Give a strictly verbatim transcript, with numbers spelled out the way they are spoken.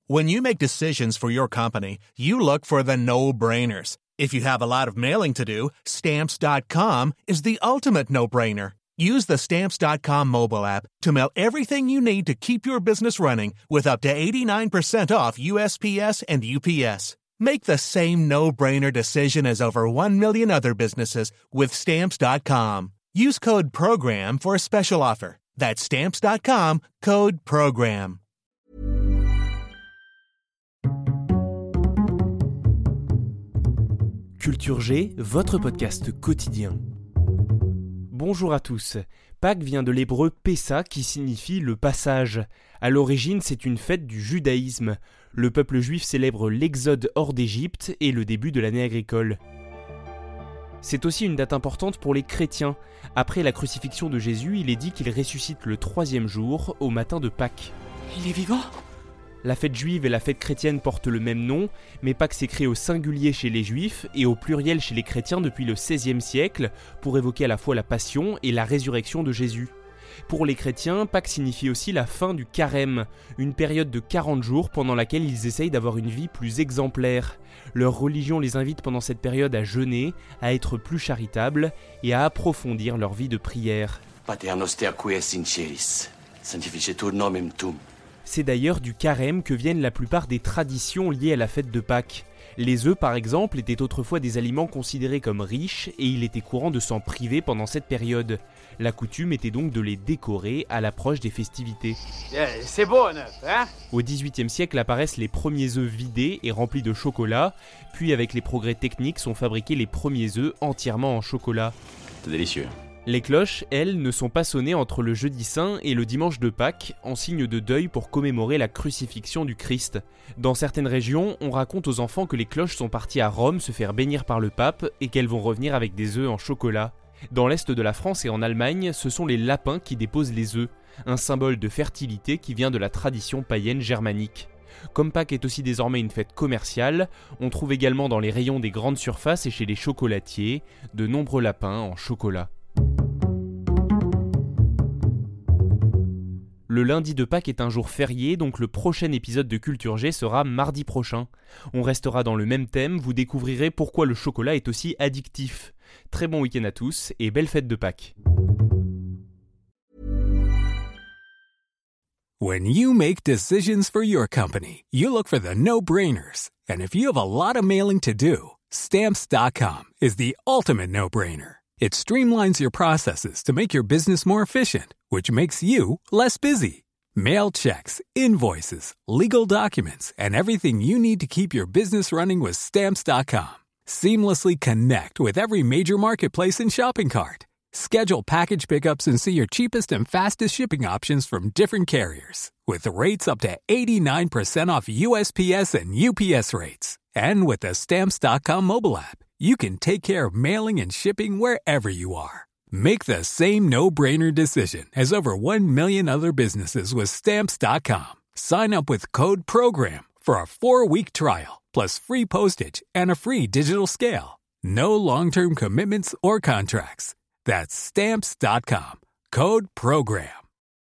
When you make decisions for your company, you look for the no-brainers. If you have a lot of mailing to do, Stamps dot com is the ultimate no-brainer. Use the Stamps dot com mobile app to mail everything you need to keep your business running with up to eighty-nine percent off U S P S and U P S. Make the same no-brainer decision as over one million other businesses with Stamps dot com. Use code PROGRAM for a special offer. That's Stamps dot com, code PROGRAM. Culture G, votre podcast quotidien. Bonjour à tous. Pâques vient de l'hébreu Pessa qui signifie le passage. À l'origine, c'est une fête du judaïsme. Le peuple juif célèbre l'exode hors d'Égypte et le début de l'année agricole. C'est aussi une date importante pour les chrétiens. Après la crucifixion de Jésus, il est dit qu'il ressuscite le troisième jour, au matin de Pâques. Il est vivant ? La fête juive et la fête chrétienne portent le même nom, mais Pâques s'écrit au singulier chez les juifs et au pluriel chez les chrétiens depuis le seizième siècle, pour évoquer à la fois la passion et la résurrection de Jésus. Pour les chrétiens, Pâques signifie aussi la fin du carême, une période de quarante jours pendant laquelle ils essayent d'avoir une vie plus exemplaire. Leur religion les invite pendant cette période à jeûner, à être plus charitables et à approfondir leur vie de prière. Pater noster qui es in celis, sanctificetur nomen tuum. C'est d'ailleurs du carême que viennent la plupart des traditions liées à la fête de Pâques. Les œufs, par exemple, étaient autrefois des aliments considérés comme riches et il était courant de s'en priver pendant cette période. La coutume était donc de les décorer à l'approche des festivités. C'est beau, neuf, hein ? Au dix-huitième siècle apparaissent les premiers œufs vidés et remplis de chocolat, puis avec les progrès techniques sont fabriqués les premiers œufs entièrement en chocolat. C'est délicieux. Les cloches, elles, ne sont pas sonnées entre le jeudi saint et le dimanche de Pâques, en signe de deuil pour commémorer la crucifixion du Christ. Dans certaines régions, on raconte aux enfants que les cloches sont parties à Rome se faire bénir par le pape et qu'elles vont revenir avec des œufs en chocolat. Dans l'est de la France et en Allemagne, ce sont les lapins qui déposent les œufs, un symbole de fertilité qui vient de la tradition païenne germanique. Comme Pâques est aussi désormais une fête commerciale, on trouve également dans les rayons des grandes surfaces et chez les chocolatiers de nombreux lapins en chocolat. Le lundi de Pâques est un jour férié, donc le prochain épisode de Culture G sera mardi prochain. On restera dans le même thème, vous découvrirez pourquoi le chocolat est aussi addictif. Très bon week-end à tous et belle fête de Pâques. When you make decisions for your company, you look for the no-brainers. And if you have a lot of mailing to do, Stamps dot com is the ultimate no-brainer. It streamlines your processes to make your business more efficient, which makes you less busy. Mail checks, invoices, legal documents, and everything you need to keep your business running with Stamps dot com. Seamlessly connect with every major marketplace and shopping cart. Schedule package pickups and see your cheapest and fastest shipping options from different carriers, with rates up to eighty-nine percent off U S P S and U P S rates. And with the Stamps dot com mobile app, you can take care of mailing and shipping wherever you are. Make the same no-brainer decision as over one million other businesses with Stamps dot com. Sign up with code PROGRAM for a four-week trial, plus free postage and a free digital scale. No long-term commitments or contracts. That's Stamps dot com. Code PROGRAM.